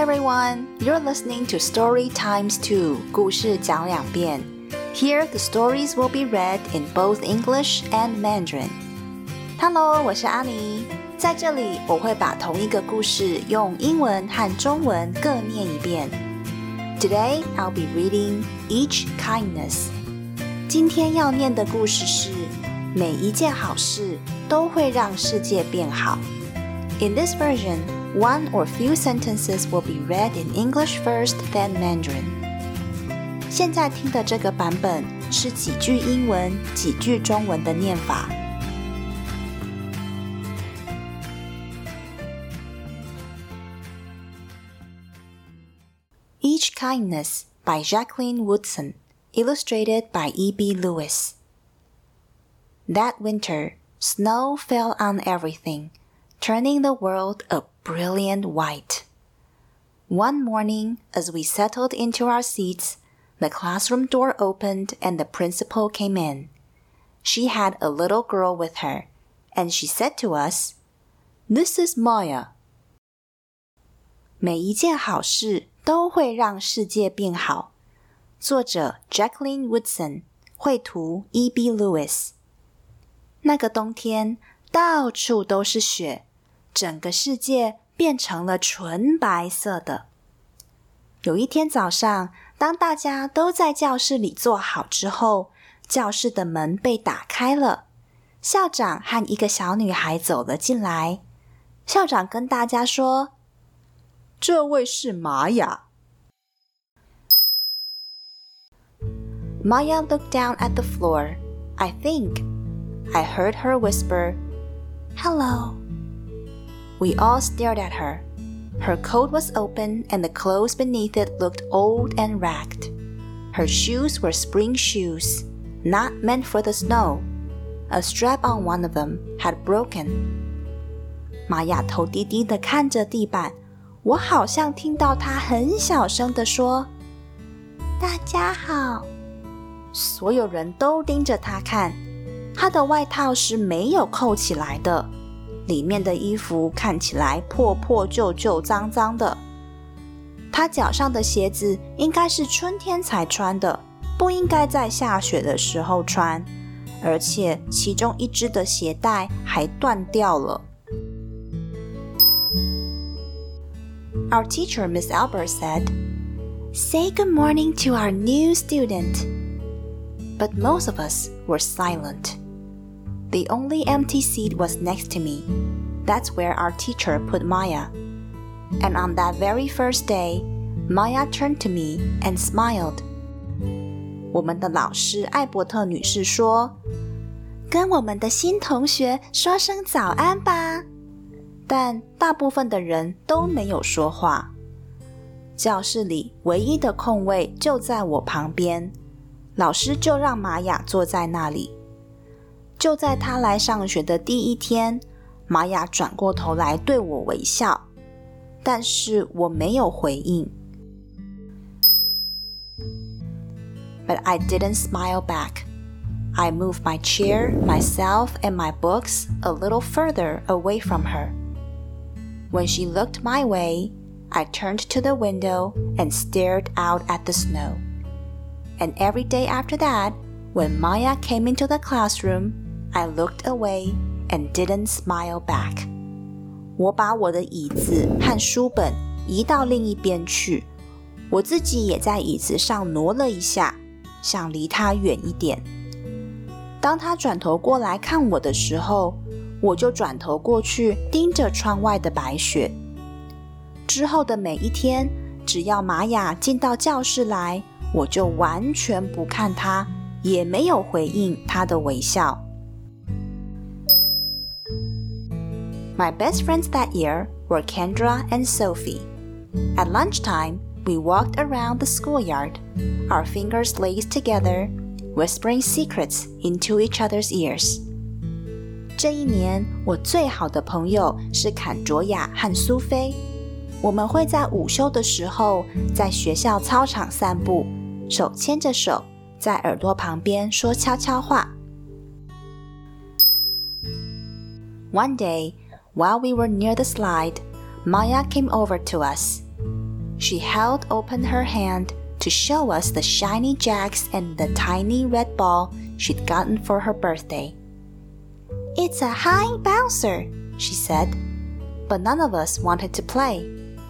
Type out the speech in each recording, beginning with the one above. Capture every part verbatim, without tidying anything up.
everyone, you're listening to Story Times two, 故事讲两遍. Here, the stories will be read in both English and Mandarin. Hello, 我是阿妮，在这里我会把同一个故事用英文和中文各念一遍。Today, I'll be reading Each Kindness. 今天要念的故事是每一件好事都会让世界变好。In this version, one or few sentences will be read in English first, then Mandarin. 现在听的这个版本是几句英文、几句中文的念法。Each Kindness by Jacqueline Woodson, illustrated by E B Lewis. That winter, snow fell on everything, turning the world a brilliant white. One morning, as we settled into our seats, the classroom door opened and the principal came in. She had a little girl with her, and she said to us, "This is Maya." 每一件好事都会让世界变好。作者 Jacqueline Woodson， 绘图 E B Lewis。那个冬天，到处都是雪，整个世界变成了纯白色的。有一天早上，当大家都在教室里坐好之后，教室的门被打开了，校长和一个小女孩走了进来。校长跟大家说，这位是玛雅。Maya looked down at the floor. I think. I heard her whisper, "Hello." We all stared at her. Her coat was open and the clothes beneath it looked old and ragged. Her shoes were spring shoes, not meant for the snow. A strap on one of them had broken. 玛雅头低低地看着地板，我好像听到她很小声地说，大家好。所有人都盯着她看，她的外套是没有扣起来的，里面的衣服看起来破破旧旧脏脏的。她脚上的鞋子应该是春天才穿的，不应该在下雪的时候穿，而且其中一只的鞋带还断掉了。Our teacher, Miss Albert, said, "Say good morning to our new student." But most of us were silent. The only empty seat was next to me. That's where our teacher put Maya. And on that very first day, Maya turned to me and smiled. 我们的老师艾伯特女士说，跟我们的新同学说声早安吧。但大部分的人都没有说话。教室里唯一的空位就在我旁边，老师就让玛雅坐在那里。就在她来上学的第一天，玛雅转过头来对我微笑，但是我没有回应。But I didn't smile back. I moved my chair, myself, and my books a little further away from her. When she looked my way, I turned to the window and stared out at the snow. And every day after that, when Maya came into the classroom, I looked away and didn't smile back. 我把我的椅子和书本移到另一边去，我自己也在椅子上挪了一下，想离她远一点。当她转头过来看我的时候，我就转头过去盯着窗外的白雪。之后的每一天，只要玛雅进到教室来，我就完全不看她，也没有回应她的微笑。My best friends that year were Kendra and Sophie. At lunchtime, we walked around the schoolyard, our fingers laced together, whispering secrets into each other's ears. 这一年，我最好的朋友是坎卓雅和苏菲。我们会在午休的时候，在学校操场散步，手牵着手，在耳朵旁边说悄悄话。One day, while we were near the slide, Maya came over to us. She held open her hand to show us the shiny jacks and the tiny red ball she'd gotten for her birthday. It's a high bouncer, she said, but none of us wanted to play.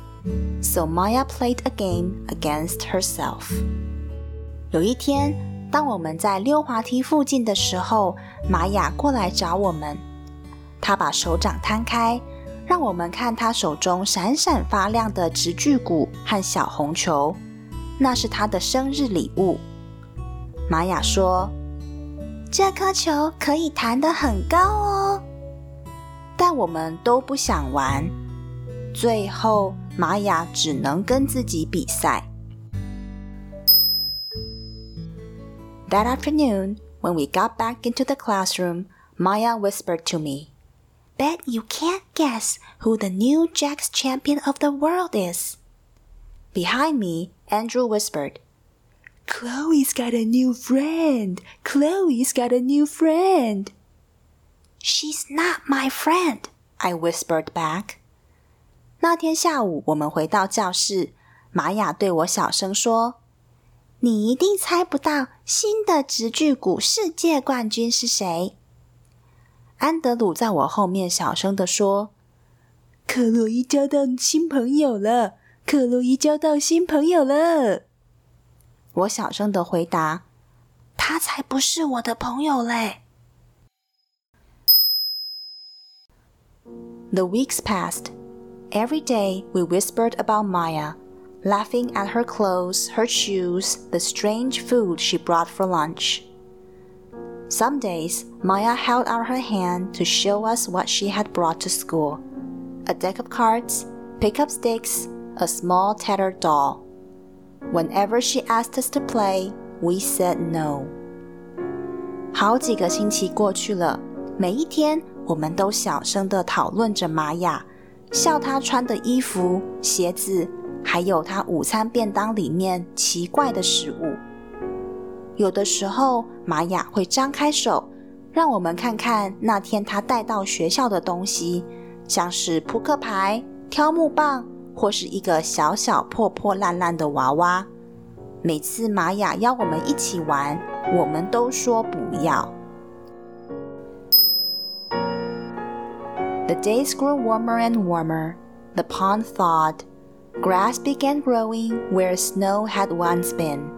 So Maya played a game against herself. 有一天，当我们在溜滑梯附近的时候，玛雅过来找我们。她把手掌摊开，让我们看她手中闪闪发亮的直距鼓和小红球，那是她的生日礼物。玛雅说，这颗球可以弹得很高哦。但我们都不想玩，最后玛雅只能跟自己比赛。That afternoon, when we got back into the classroom, Maya whispered to me, Bet you can't guess who the new Jacks champion of the world is. Behind me, Andrew whispered, Chloe's got a new friend. Chloe's got a new friend. She's not my friend, I whispered back. 那天下午，我们回到教室，玛雅对我小声说，你一定猜不到新的直距鼓世界冠军是谁。安德鲁在我后面小声地说，克洛伊交到新朋友了，克洛伊交到新朋友了。我小声地回答，他才不是我的朋友嘞。The weeks passed. Every day we whispered about Maya, laughing at her clothes, her shoes, the strange food she brought for lunch. Some days, Maya held out her hand to show us what she had brought to school. A deck of cards, pickup sticks, a small tattered doll. Whenever she asked us to play, we said no. 好几个星期过去了，每一天我们都小声地讨论着玛雅，笑她穿的衣服、鞋子，还有她午餐便当里面奇怪的食物。有的时候，玛雅会张开手，让我们看看那天她带到学校的东西，像是扑克牌、挑木棒，或是一个小小破破烂烂的娃娃。每次玛雅邀我们一起玩，我们都说不要。The days grew warmer and warmer. The pond thawed. Grass began growing where snow had once been.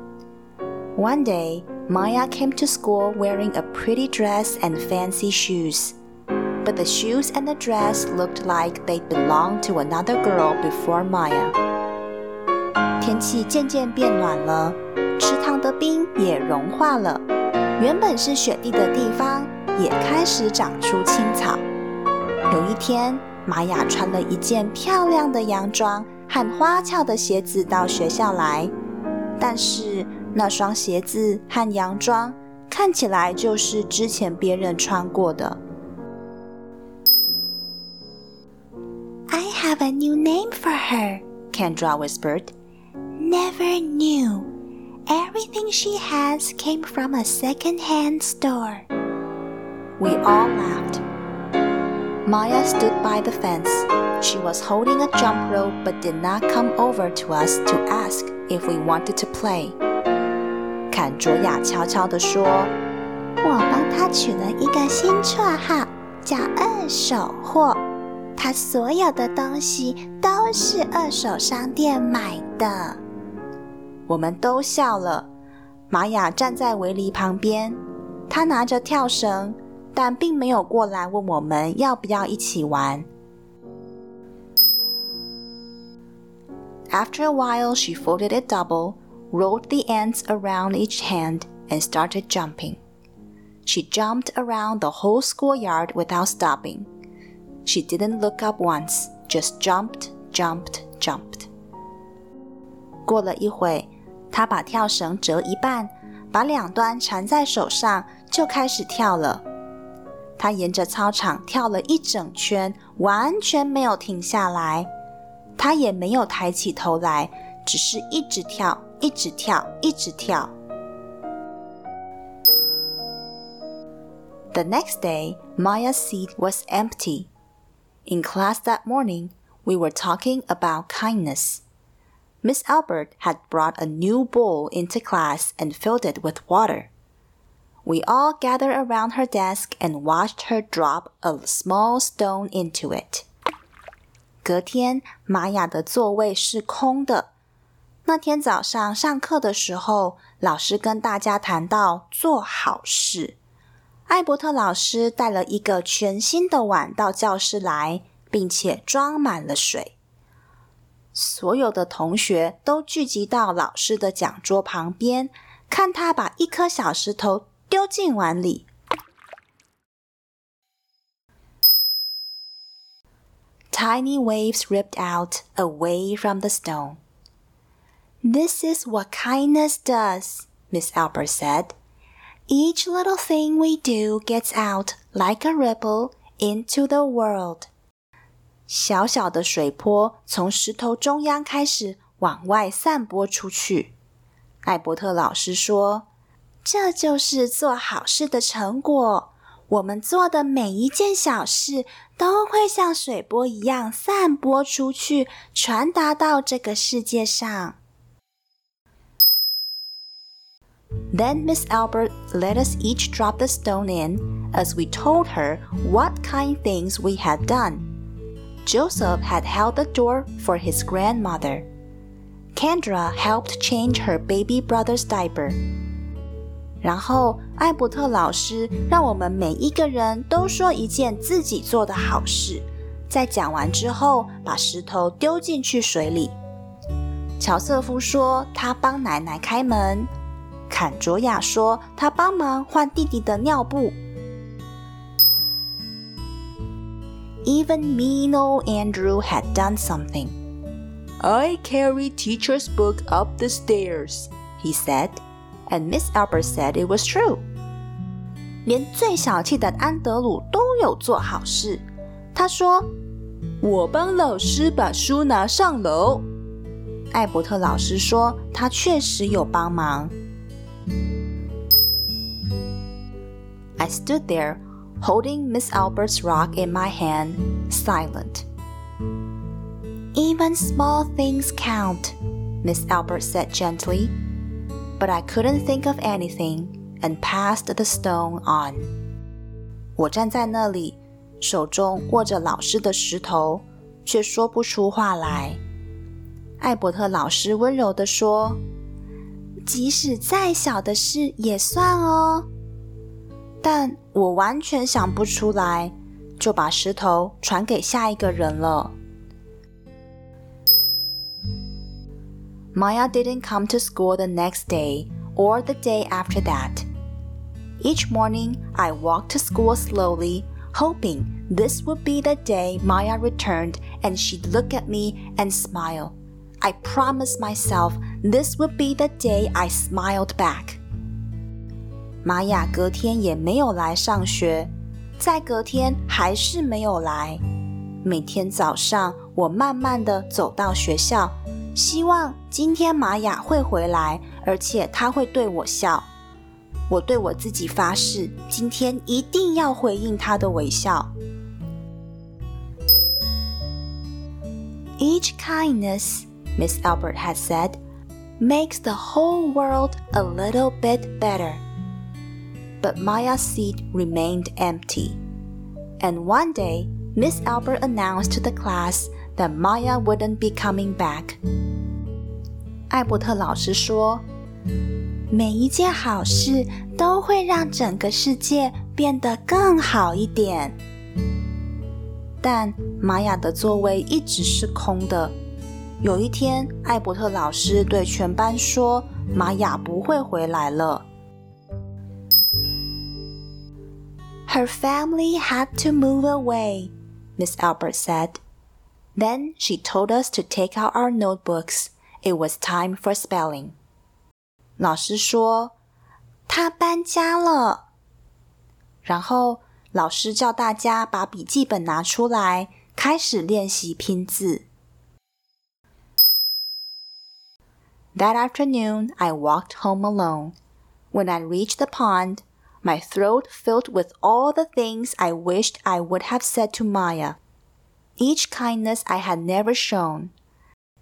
One day, Maya came to school wearing a pretty dress and fancy shoes. But the shoes and the dress looked like they belonged to another girl before Maya. 天气渐渐变暖了，池塘的冰也融化了，原本是雪地的地方也开始长出青草。有一天，玛雅穿了一件漂亮的洋装和花俏的鞋子到学校来，但是那双鞋子和洋装看起来就是之前别人穿过的。I have a new name for her, Kendra whispered. Never knew. Everything she has came from a second-hand store. We all laughed. Maya stood by the fence. She was holding a jump rope but did not come over to us to ask if we wanted to play. 坎卓雅悄悄地说，我帮她取了一个新绰号，叫二手货。她所有的东西都是二手商店买的。我们都笑了。玛雅站在围篱旁边，她拿着跳绳，但并没有过来问我们要不要一起玩。After a while, she folded it double, rolled the ends around each hand, and started jumping. She jumped around the whole schoolyard without stopping. She didn't look up once, just jumped, jumped, jumped. 过了一会，她把跳绳折一半，把两端缠在手上，就开始跳了。她沿着操场跳了一整圈，完全没有停下来。她也没有抬起头来，只是一直跳，一直跳，一直跳。The next day, Maya's seat was empty.In class that morning, we were talking about kindness. Miss Albert had brought a new bowl into class and filled it with water. We all gathered around her desk and watched her drop a small stone into it. 隔天，玛雅的座位是空的。那天早上上课的时候，老师跟大家谈到做好事。艾伯特老师带了一个全新的碗到教室来，并且装满了水。所有的同学都聚集到老师的讲桌旁边，看他把一颗小石头丢进碗里。Tiny waves ripped out away from the stone. This is what kindness does, Miss Albert said. Each little thing we do gets out like a ripple into the world. 小小的水波从石头中央开始往外散播出去。艾伯特老师说，这就是做好事的成果。我们做的每一件小事都会像水波一样散播出去，传达到这个世界上。Then Miss Albert let us each drop the stone in as we told her what kind things we had done.Joseph had held the door for his grandmother. Kendra helped change her baby brother's diaper. 然后，艾伯特老师让我们每一个人都说一件自己做的好事，在讲完之后，把石头丢进去水里。乔瑟夫说他帮奶奶开门，坎卓雅说他帮忙换弟弟的尿布。Even mean old Andrew had done something. I carried teacher's book up the stairs, he said, and Miss Albert said it was true. 连最小气的安德鲁都有做好事。他说，我帮老师把书拿上楼。艾伯特老师说，他确实有帮忙。I stood there,holding Miss Albert's rock in my hand, silent. Even small things count, Miss Albert said gently, but I couldn't think of anything and passed the stone on. 我站在那里，手中握着老师的石头，却说不出话来。艾伯特老师温柔地说，即使再小的事也算哦。但我完全想不出来，就把石头传给下一个人了。Maya didn't come to school the next day or the day after that. Each morning, I walked to school slowly, hoping this would be the day Maya returned and she'd look at me and smile. I promised myself this would be the day I smiled back.玛雅隔天也没有来上学，再隔天还是没有来。每天早上，我慢慢地走到学校，希望今天玛雅会回来，而且她会对我笑。我对我自己发誓，今天一定要回应她的微笑。Each kindness, Miss Albert had said, makes the whole world a little bit better.But Maya's seat remained empty. And one day, Miss Albert announced to the class that Maya wouldn't be coming back. 艾伯特老师说，每一件好事都会让整个世界变得更好一点。但玛雅的座位一直是空的。有一天，艾伯特老师对全班说，玛雅不会回来了。Her family had to move away, Miss Albert said. Then she told us to take out our notebooks. It was time for spelling. 老师说，她搬家了。然后老师叫大家把笔记本拿出来，开始练习拼字。That afternoon, I walked home alone. When I reached the pond,My throat filled with all the things I wished I would have said to Maya. Each kindness I had never shown.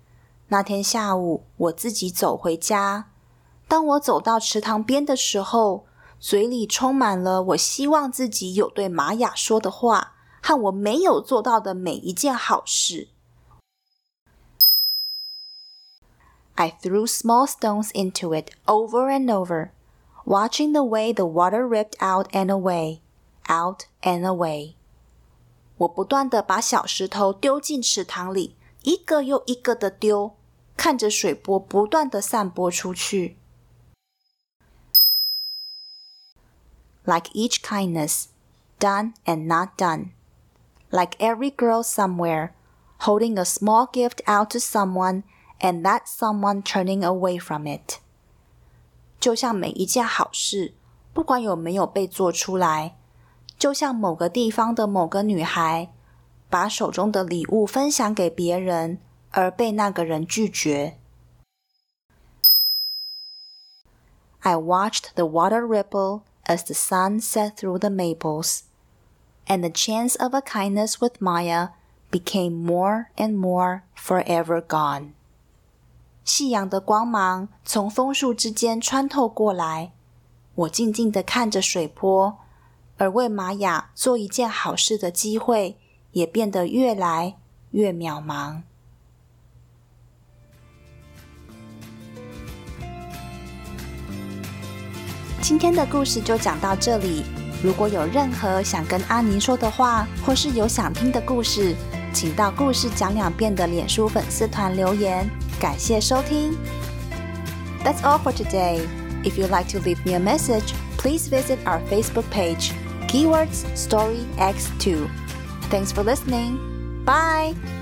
那天下午，我自己走回家。当我走到池塘边的时候，嘴里充满了我希望自己有对玛雅说的话，和我没有做到的每一件好事。I threw small stones into it over and over, watching the way the water ripped out and away, out and away. 我不断地把小石头丢进池塘里，一个又一个的丢，看着水波不断地散播出去。Like each kindness, done and not done. Like every girl somewhere, holding a small gift out to someone, and that someone turning away from it. 就像每一件好事，不管有没有被做出来，就像某个地方的某个女孩，把手中的礼物分享给别人，而被那个人拒绝。I watched the water ripple as the sun set through the maples, and the chance of a kindness with Maya became more and more forever gone. 夕阳的光芒从枫树之间穿透过来，我静静地看着水波，而为玛雅做一件好事的机会也变得越来越渺茫。今天的故事就讲到这里，如果有任何想跟阿妮说的话，或是有想听的故事，请到故事讲两遍的脸书粉丝团留言。感谢收听。That's all for today. If you'd like to leave me a message, please visit our Facebook page, Keywords Story X two. Thanks for listening. Bye!